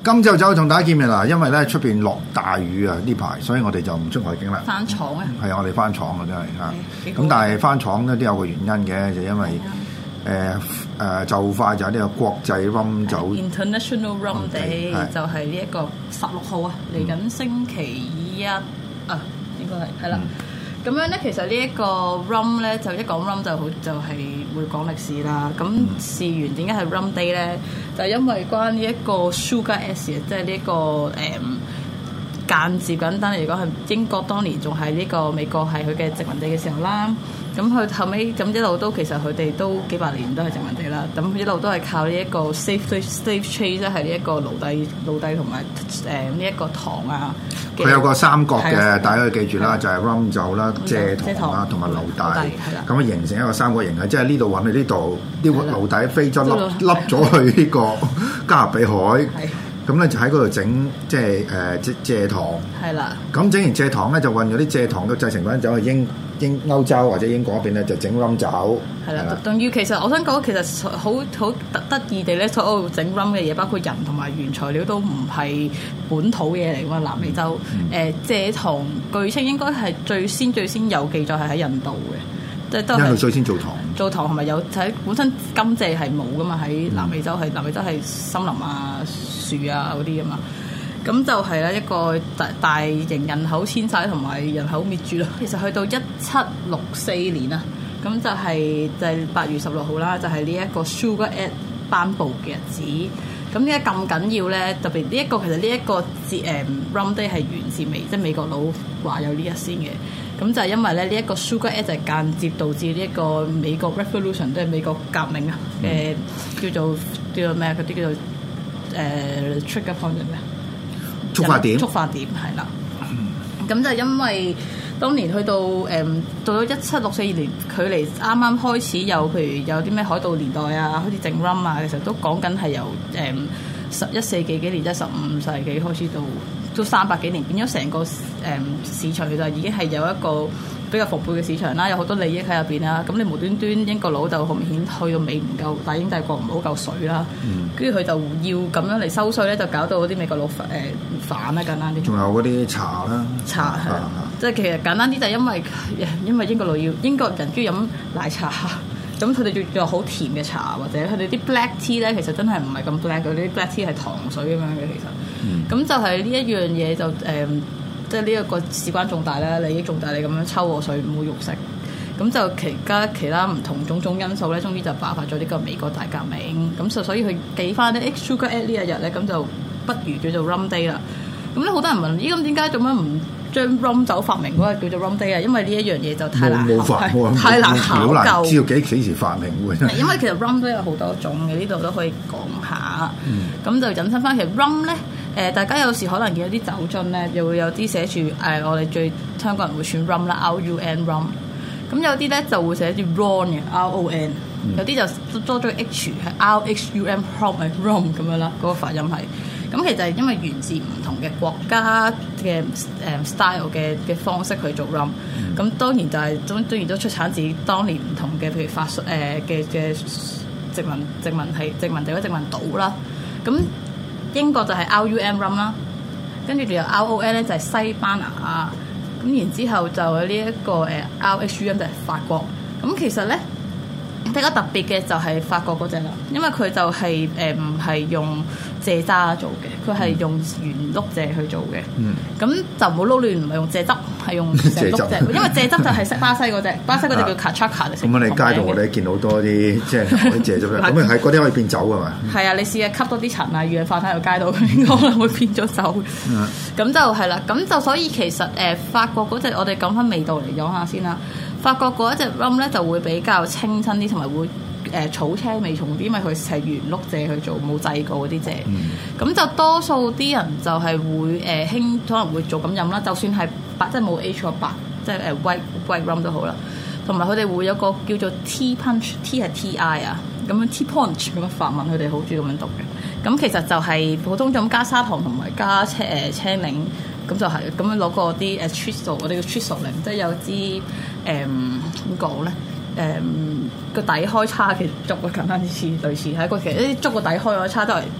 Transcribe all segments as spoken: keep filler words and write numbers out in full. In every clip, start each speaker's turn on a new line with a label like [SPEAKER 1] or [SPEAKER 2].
[SPEAKER 1] 今朝早同大家見面啦，因為咧出邊落大雨啊呢排，所以我哋就唔出外景啦。
[SPEAKER 2] 翻廠啊？
[SPEAKER 1] 係啊，我哋翻廠啊，真係嚇。咁、
[SPEAKER 2] 嗯、
[SPEAKER 1] 但係翻廠咧都有個原因嘅，就因為誒誒、呃呃、就快就係呢個國際 rum 酒
[SPEAKER 2] International Rum Day，
[SPEAKER 1] 係
[SPEAKER 2] 就係呢一個十六號啊，嚟緊星期一啊，應該係係啦。咁樣咧，其實呢一個 rum 咧，就一講 rum 就好，就係、是、會講歷史啦。咁事緣點解係 rum day 咧？就係、因為關呢一個 sugar acid，即係呢一個誒、嗯、間接簡單嚟講係英國當年仲係呢個美國係佢嘅殖民地嘅時候啦。咁佢後尾咁一路都其實佢哋都幾百年都係殖民地啦。咁一路都係靠呢一個 slave slave trade，即係呢一個奴隸奴隸同埋誒呢一個糖啊。
[SPEAKER 1] 佢有個三角嘅，大家要記住啦，就係 rum 酒啦、蔗糖啦同埋奴隸，咁啊形成一個三角形嘅，即係呢度揾去呢度，啲奴隸飛咗笠笠咗去呢個加勒比海。咁咧就喺嗰度整即係誒即蔗糖，係啦。咁整完蔗糖咧就運咗啲蔗糖嘅製成品走去英英歐洲或者英國嗰邊咧就整 rum 酒。係啦，仲要其實我想講，其實好好得得意地咧，所有整 rum 嘅嘢，包括人同埋原材料都唔係本土嘢嚟㗎嘛，南美洲。誒、嗯呃、蔗糖據稱應該係最先最先有記載係喺印度嘅。即係都係因為最先做糖，做糖係咪有喺本身甘蔗係冇噶嘛？喺南美洲係、嗯、南美洲係森林啊、樹啊嗰啲噶嘛，咁就係咧一個大大型人口遷徙同埋人口滅絕咯。其實去到一七六四年啊，咁就係就係八月十六號啦，就係呢一個 Sugar Act 頒布嘅日子。咁點解咁緊要咧？特別呢一個其實呢一個節誒 Rum Day 係源自美，即係美國佬話有呢一先嘅。咁就係因為咧呢一個 Sugar Act 就係間接導致呢一個美國 Revolution， 即係美國革命啊嘅、呃、叫做叫做咩？嗰啲叫做誒、呃、trigger point 咩？觸發點。觸發點係啦。咁、嗯、就因為當年去到誒、嗯、到咗一七六四年，距離啱啱開始有譬如有啲咩海盜年代啊，好似整 rum 啊，其實都講緊係由誒十一世紀幾年，即係十五世紀開始到。都三百幾年，變咗成個誒、嗯、市場就已經係有一個比較蓬勃嘅市場啦，有好多利益喺入邊啦。咁你無端端英國佬就好明顯去到尾唔夠，大英帝國唔好夠水啦。跟住佢就要咁樣嚟收稅咧，就搞到嗰啲美國佬誒反啦，簡單啲。仲有嗰啲茶啦，茶係，啊、即係其實簡單啲就係因為因為英國佬要英國人中意飲奶茶。咁佢哋仲有好甜嘅茶，或者佢哋啲 black tea 咧，其實真係唔係咁 black 嘅，啲 black tea 係糖水咁樣嘅其實。咁、嗯、就係呢一樣嘢就誒、呃，即係呢一個事關重大啦，利益重大，你咁樣抽我水唔好肉食。咁就其他其他唔同種種因素咧，終於就爆發咗呢個美國大革命。咁就所以佢記翻啲 Sugar Act 呢一日咧，咁就不如叫做 Rum Day 啦。咁咧好多人問：咦，咁點解做乜唔將 rum 酒發明嗰個叫做 rum day 啊？因為呢一樣嘢就太難，太難考究，知道幾幾時發明喎？因為其實 rum 都有好多種嘅，呢度都可以講下。咁、嗯、就引申翻，其實 rum 咧，誒、呃、大家有時可能見到啲酒樽咧，又會有啲寫住誒、呃、我哋最香港人會選 rum 啦 ，R U N rum。咁有啲咧就會寫住 ron 嘅 R O N，、嗯、有啲就多咗個 H 係 R H U M rum 係 rum 咁樣啦，嗰、那個發音係。咁其實係因為源自唔同嘅國家嘅誒 style 嘅嘅方式去做 rum，咁、嗯、當然就係當當然都出產自當年唔同嘅，譬如法誒嘅嘅殖民殖民係殖民地或者殖民島啦。咁英國就係 R U M rum 啦，跟住仲有 R O N 咧就係西班牙，咁然之後就有呢一個誒 R H U M 就係法國。咁其實咧比較特別嘅就係法國嗰隻啦，因為佢就係誒唔係用蔗渣做嘅，佢係用原碌蔗去做嘅。咁、嗯、就唔好撈亂，唔係用蔗汁，係用成碌蔗。因為蔗汁就係巴西嗰隻，巴西嗰隻叫 Cachaça。咁我哋街度我哋見到多啲即係啲蔗汁咧，咁啊係嗰啲可以變酒㗎嘛？係啊，你試下吸多啲塵啊、二氧化碳喺個街度，應該可能會變咗酒。咁、嗯、就係啦，咁就所以其實誒、呃、法國嗰隻，我哋講翻味道嚟講下先啦。法國嗰一隻 rum 咧就會比較清新啲，同埋會誒、呃、草青味重啲，因為佢係原碌蔗去做，冇製過嗰啲蔗。咁、嗯、就多數啲人就係會誒興、呃，可能會做咁飲啦。就算係白，即係冇 H 個白，即係誒 white white rum 都好啦。同埋佢哋會有個叫做 tea punch，tea 係 T I 啊，咁樣 tea punch 咁樣法文，佢哋好中意咁樣讀嘅。咁其實就係普通咁加砂糖同埋加青誒青檸。咁就係咁樣攞個啲誒 Trisol，我哋叫 Trisoling，即係有支誒點講咧？誒個底開叉嘅竹啊，簡單啲似類似係一個其實啲竹個底開咗叉都係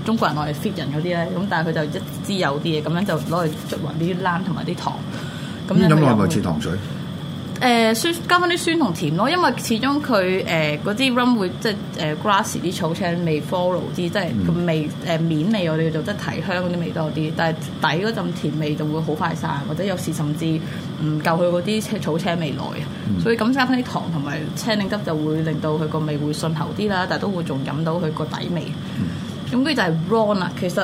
[SPEAKER 2] 中國人攞嚟 fit 人嗰啲咧，咁但係佢就一支有啲嘢，咁樣就攞嚟捽勻啲冷同埋啲糖。咁
[SPEAKER 1] 飲落係咪似糖水？
[SPEAKER 2] 誒、呃、酸加翻啲酸同甜咯，因為始終佢誒嗰啲 rum 會即係誒 grass 啲草青味 follow 啲，即係個味誒、呃、面味我哋叫做即係提香嗰啲味多啲，但係底嗰陣甜味就會好快散，或者有時甚至唔夠佢嗰啲草青味來啊，嗯、所以咁加翻啲糖同埋青檸汁就會令到佢個味會順喉啲啦，但係都會仲飲到佢個底味。咁跟住就係 ron 啦，其實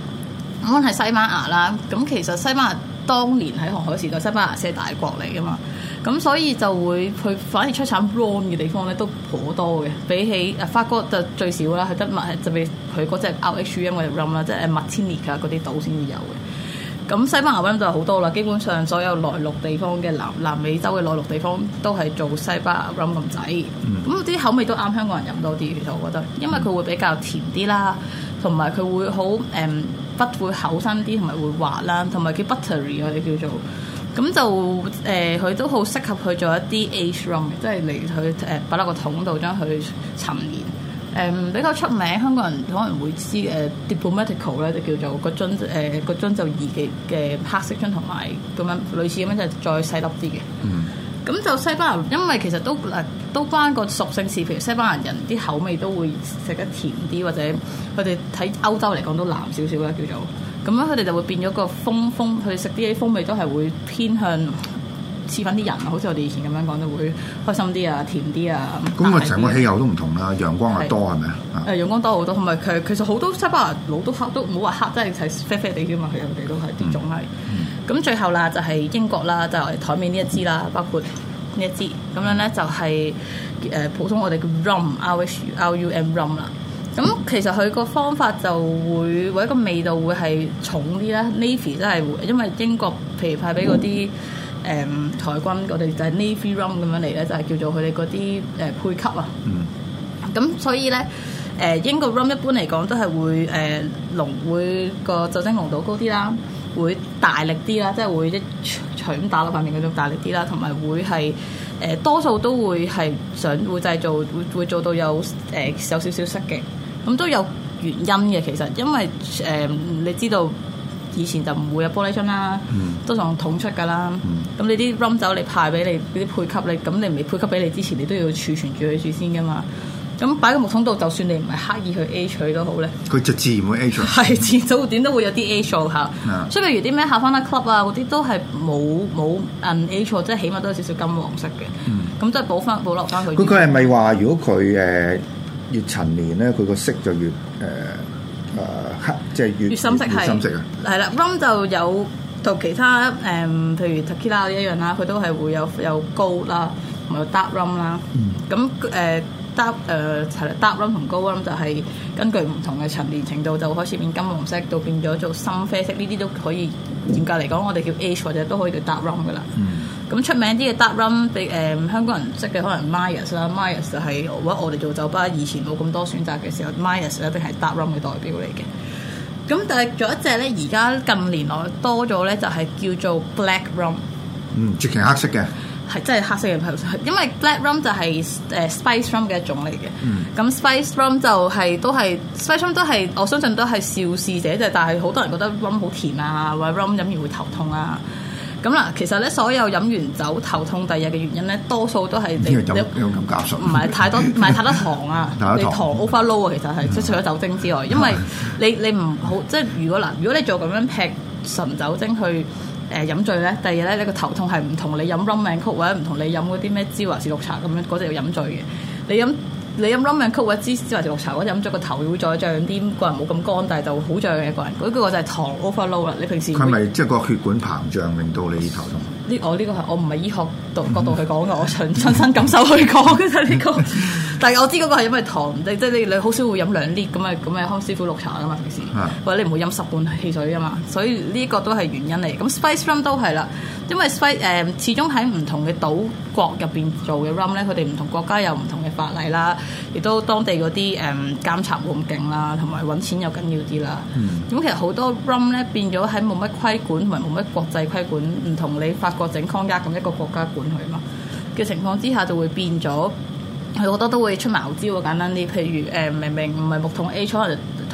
[SPEAKER 2] ron 係西班牙啦，咁其實西班牙當年喺航海時代，西班牙先係大國嚟噶嘛。咁所以就會佢反而出產 ron 嘅地方咧都頗多嘅，比起誒法國就最少啦，佢得麥就俾佢嗰隻 R H U M 嗰隻 rum 啦，即係 Martinique 啊嗰啲島先至有嘅。咁西班牙 rum 就好多啦，基本上所有內陸地方嘅南南美洲嘅內陸地方都係做西班牙 rum 咁滯。咁啲、嗯、口味都啱香港人飲多啲，其實我覺得，因為佢會比較甜啲啦，同埋佢會好誒不會厚身啲，同埋會滑啦，同埋叫 buttery 我哋叫做。咁就誒，佢、呃、都好適合去做一啲 age rum 嘅，即係嚟去誒擺落個桶度將佢陳年。誒、呃、比較出名，香港人可能會知誒、呃、Diplomatico 咧，就叫做個樽誒個樽就二嘅嘅黑色樽，同埋咁樣類似咁樣就再細粒啲嘅。嗯。咁就西班牙，因為其實都誒都關個屬性事，譬如西班牙人啲口味都會食得甜啲，或者佢哋喺歐洲嚟講都藍少少啦，叫做。咁樣佢哋就會變咗個風風，佢哋食啲風味都係會偏向似翻啲人，好似我哋以前咁樣講，就會開心啲啊、甜啲啊。
[SPEAKER 1] 咁啊，成個氣候都唔同啦，陽光係多係咪啊？
[SPEAKER 2] 誒，陽光多好多，同埋其其實好多西班牙佬都黑，都唔好話黑，真係係啡啡地嘅嘛，佢哋都係啲種係。咁、嗯、最後啦，就係英國啦，就係台面呢一支啦，包括呢一支咁樣咧，就係誒普通我哋叫 rum，R H R U M rum 啦。咁其實佢個方法就會或者個味道會係重啲啦 ，Navy 真係因為英國譬如派俾嗰啲誒台軍，我哋就係 Navy rum 咁樣嚟咧，就係、是、叫做佢哋嗰啲誒配給啊。咁、嗯、所以咧，誒、呃、英國 rum 一般嚟講都係會誒濃、呃，會個酒精濃度高啲啦，會大力啲啦，即係會一錘咁打落塊面嗰種大力啲啦，同埋會係。誒、呃、多數都會係想會製造會會做到有誒、呃、有少少色嘅，咁都有原因嘅。其實因為誒、呃、你知道以前就唔會有玻璃樽啦，嗯、都用桶出㗎啦。咁、嗯、你啲 rum 酒你派俾你嗰啲配給你，咁你未配給俾你之前，你都要儲存住佢住先㗎嘛。咁擺個木桶度，就算你唔係刻意去 age 佢都好咧，
[SPEAKER 1] 佢就自然會 age。
[SPEAKER 2] 係自然早點都會有啲 age 嚇。Yeah. 所以譬如啲咩下翻啦 club 啊嗰啲都係冇冇 un-age，即係起碼都有少少金黃色嘅。咁即係補翻保留翻佢。佢佢
[SPEAKER 1] 係咪話如果佢誒越陳年咧，佢個色就越誒誒黑，即係越越深色係。越深色啊！
[SPEAKER 2] 係啦 ，rum 就有同其他誒、嗯，譬如 tequila 一樣啦，佢都係會有有高啦，同埋有 dark rum 啦。咁誒、嗯。dark 誒係啦 dark rum 同高 rum 就係根據唔同嘅陳年程度，就開始變金黃色，到變咗做深啡色。呢啲都可以嚴格嚟講，我哋叫 age 或者都可以叫 dark rum 噶啦。咁、嗯、出名啲嘅 dark rum，俾誒、呃、香港人識嘅可能 Myers 啦 ，Myers 就係如果我哋做酒吧以前冇咁多選擇嘅時候 ，Myers 一定係 dark rum 嘅代表嚟嘅。咁但係仲有一隻咧，而家近年來多咗咧，就係叫做 black rum。
[SPEAKER 1] 嗯，絕情黑色嘅。
[SPEAKER 2] 係真係黑色嘅，因為 black rum 就係、是、誒、呃、spice rum 嘅一種嚟嘅。咁、嗯、spice rum 就係、是、都係 spice rum 都係我相信都係肇事者，就但係好多人覺得 rum 好甜啊，或者 rum 飲完會頭痛啊。咁嗱，其實咧所有飲完酒頭痛第二日嘅原因咧，多數都係你
[SPEAKER 1] 有有咁加速，
[SPEAKER 2] 唔係太多唔係太多糖啊，你糖 overload 啊，其實係即係除咗酒精之外，因為你你唔好即係如果嗱，如果你做咁樣劈純酒精去。誒飲醉咧，第二日咧你個頭痛係唔同你飲 rum and coke 或者唔同你飲嗰啲咩芝華士綠茶咁樣嗰隻要飲醉嘅。你飲你飲 rum and coke 或者芝芝華士綠茶嗰隻飲咗個頭會再脹啲，個人冇咁乾，但係就好脹嘅個人。嗰、那個就係糖 overload 啦。你平時
[SPEAKER 1] 佢咪即係個血管膨脹令到你頭痛？
[SPEAKER 2] 呢我呢個係我唔係醫學度角度去講嘅，我親親身感受去講嘅啫呢個。但係我知嗰個係因為糖，即係你你好少會飲兩 lit 咁啊咁嘅康師傅綠茶噶嘛平時，啊、或者你唔會飲十罐汽水噶嘛，所以呢個都係原因嚟。咁 spice rum 都係啦，因為 spice 誒、呃、始終喺唔同嘅島國入邊做嘅 rum 咧，佢哋唔同國家有唔同嘅法例啦，亦都當地嗰啲誒監察冇咁勁啦，同埋揾錢又緊要啲啦。咁、嗯、其實好多 rum 咧變咗喺冇乜規管同埋冇乜國際規管，唔同你法國整 cognac 咁一個國家管佢嘛嘅情況之下，就會變咗。佢好多都會出茅招啊，簡單啲，譬如誒、呃、明明唔係木桶 A，可能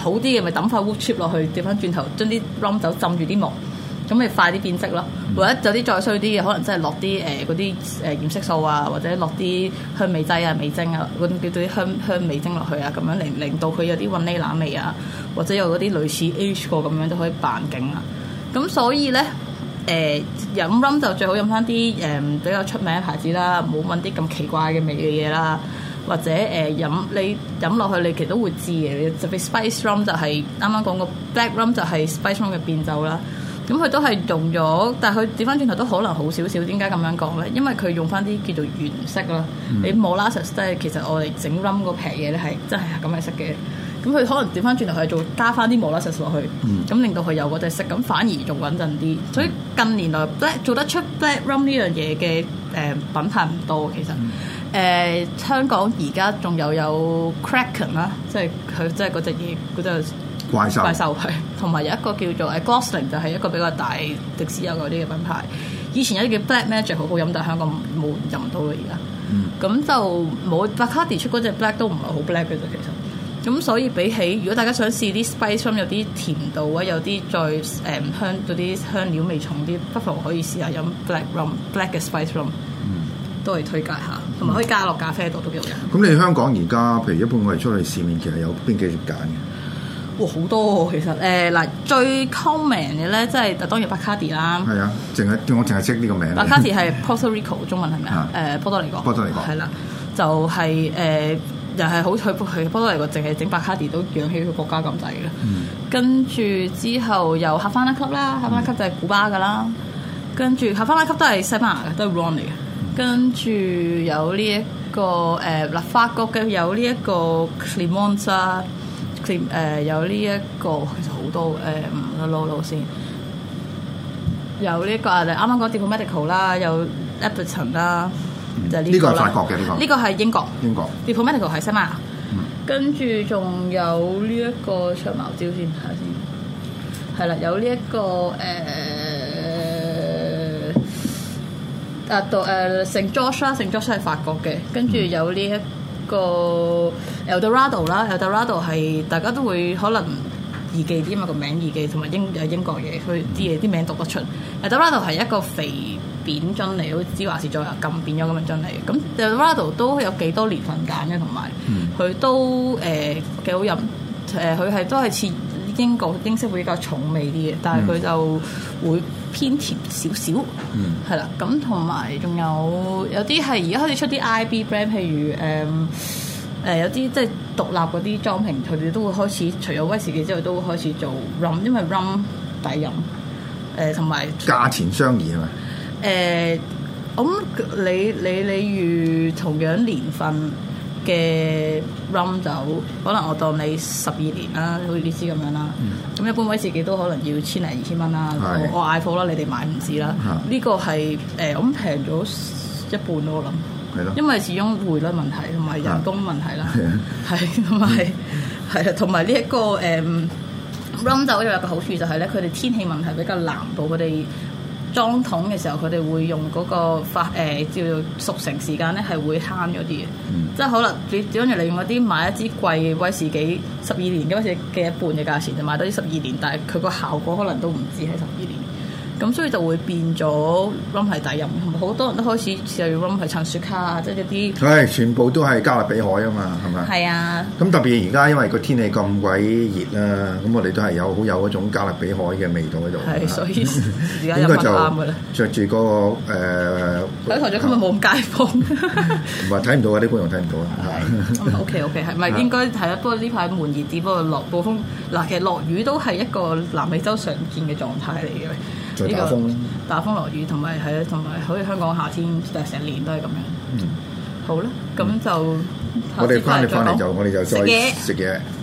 [SPEAKER 2] 好啲嘅咪抌塊 wood chip 落去，掉翻轉頭將啲 rum 酒浸住啲木，咁咪快啲變色咯。嗯、或者有啲再衰啲嘅，可能真係落啲誒嗰啲誒染色素啊，或者落啲香味劑啊、味精啊，嗰啲叫做啲香香味精落去啊，咁樣令令到佢有啲雲呢拿味啊，或者有嗰啲類似 age 過咁樣都可以扮勁啊。咁所以咧。誒、呃、飲 rum 就最好飲翻啲誒比較出名嘅牌子啦，唔好揾啲咁奇怪嘅味嘅嘢啦，或者誒、呃、飲你飲落去你其實都會知嘅，特別 spice rum 就係啱啱講個 black rum 就係 spice rum 嘅變奏啦。咁佢都係用咗，但係佢調翻轉頭都可能好少少。點解咁樣講咧？因為佢用翻啲叫做原色啦。嗯、你 molasses 即係其實我哋整 rum 嗰撇嘢咧係真係咁嘅色嘅。咁佢可能調翻轉頭係做加翻啲 molasses 落去，咁、嗯、令到佢有嗰隻色，咁反而仲穩陣啲。所以近年來 black 做得出 black rum 呢樣嘢嘅誒品牌唔多，其實誒、嗯呃、香港而家仲有有 Kraken 啦，即係佢即係嗰隻嘢嗰隻怪獸怪獸係，同埋有一個叫做誒 Gosling 就係一個比較大迪士有嗰啲嘅品牌。以前有啲叫 Black Magic 好好飲，但係香港冇飲到啦而家。咁、嗯、就冇 Bacardi 出嗰隻 black 都唔係好 black 嘅啫，其實。咁所以比起，如果大家想試啲 spice rum 有啲甜度啊，有啲再誒、嗯、香嗰啲香料味重啲，不妨可以試下飲 black rum，black 嘅 spice rum，嗯、都係推介下，同埋可以加落咖啡度都幾好飲。咁
[SPEAKER 1] 你香港而家譬如一般我哋出去市面，其實有邊幾隻揀嘅？
[SPEAKER 2] 哇，好多其實誒嗱、呃，最 common 嘅咧，即係當然 Bacardi 啦。係啊，
[SPEAKER 1] 淨係我淨係識呢個名。
[SPEAKER 2] Bacardi 係 Puerto Rico 中文係咪啊？誒，波多黎各。波多黎各係啦，就係、是、誒。呃又係好去去波多黎各，淨係整白卡迪都養起佢國家咁滯嘅。嗯、跟住之後又哈瓦那級啦，哈瓦那級就係古巴噶啦。跟住哈瓦那級都係西班牙嘅，都係 rum 嚟嘅。跟住有呢、這、一個誒嗱、呃、法國嘅有呢一個 Clément 啦，誒有呢、這、一個其實好多誒唔攞攞先。有呢、這個啊，啱啱講 Diplomatico 啦，有 Appleton 啦。就呢個係法國嘅呢個，呢個係英國。英國 Diplomatico 係西班牙，嗯、跟住仲有呢一個長矛蕉先睇下先，係啦，有呢、這、一個誒啊到誒聖 George 啦，聖 George 係法國嘅，跟住有呢一個 Eldorado 啦 ，Eldorado 係大家都會可能易記啲嘛，個名易記，同埋英有英國嘢，佢啲嘢啲名讀得出。Eldorado 係一個肥扁樽嚟，好似芝華士再咁變咗咁嘅樽嚟嘅。咁 Eldorado 都有幾多年份揀嘅，同埋佢都誒幾好飲。誒佢係都係似英國英式會比較重味啲嘅，但係佢就會偏甜少少。係啦、嗯，咁同埋仲有有啲係而家開始出啲 I B brand， 譬如誒誒、呃、有啲即係獨立嗰啲裝瓶，佢哋都會開始除咗威士忌之外，都會開始做 rum， 因為 rum 抵飲。誒同埋
[SPEAKER 1] 價錢相宜係咪？
[SPEAKER 2] 誒，咁、呃、你你你如同樣年份嘅 rum 酒，可能我當你十二年啦，好似呢支咁樣啦。咁、嗯、一般威士忌都可能要千零二千蚊啦。我我嗌貨啦，你哋買唔止啦。呢、嗯、個係誒，我諗平咗一半咯，我諗。係咯。因為始終匯率問題同埋人工問題啦。係同埋係啊，同埋呢一個誒、嗯、rum 酒又有個好處就係咧，佢哋天氣問題比較南部，佢哋裝桶嘅時候，佢哋會用嗰個發誒、呃、叫做熟成時間咧，係會慳咗啲嘅。嗯、即係可能你只跟住你用嗰啲買一支貴威士忌十二年嘅威士忌嘅一半嘅價錢，就買多啲十二年，但係佢個效果可能都唔止係十二年。咁所以就會變咗 rum 係抵飲，同埋好多人都開始試用 rum 係襯雪茄啊，即係一啲。係
[SPEAKER 1] 全部都係加勒比海啊嘛，係咪？係啊。咁特別而家因為個天氣咁鬼熱啦，咁我哋都係有好有嗰種加勒比海嘅味道喺度。係，所以而家飲得啱㗎啦。着住嗰個誒。睇台長今日冇咁街坊。唔係睇唔到啊！啲觀眾睇唔到啊。係。O K O K 係咪應該係啊？不過呢排悶熱啲，不過落暴風嗱，其實落雨都係一個南美洲常見嘅狀態嚟嘅。再打風，打風落雨，同埋係啊，同埋好似香港夏天，但係成年都係咁樣。嗯，好啦，咁就我哋翻嚟翻嚟就我哋就再食嘢。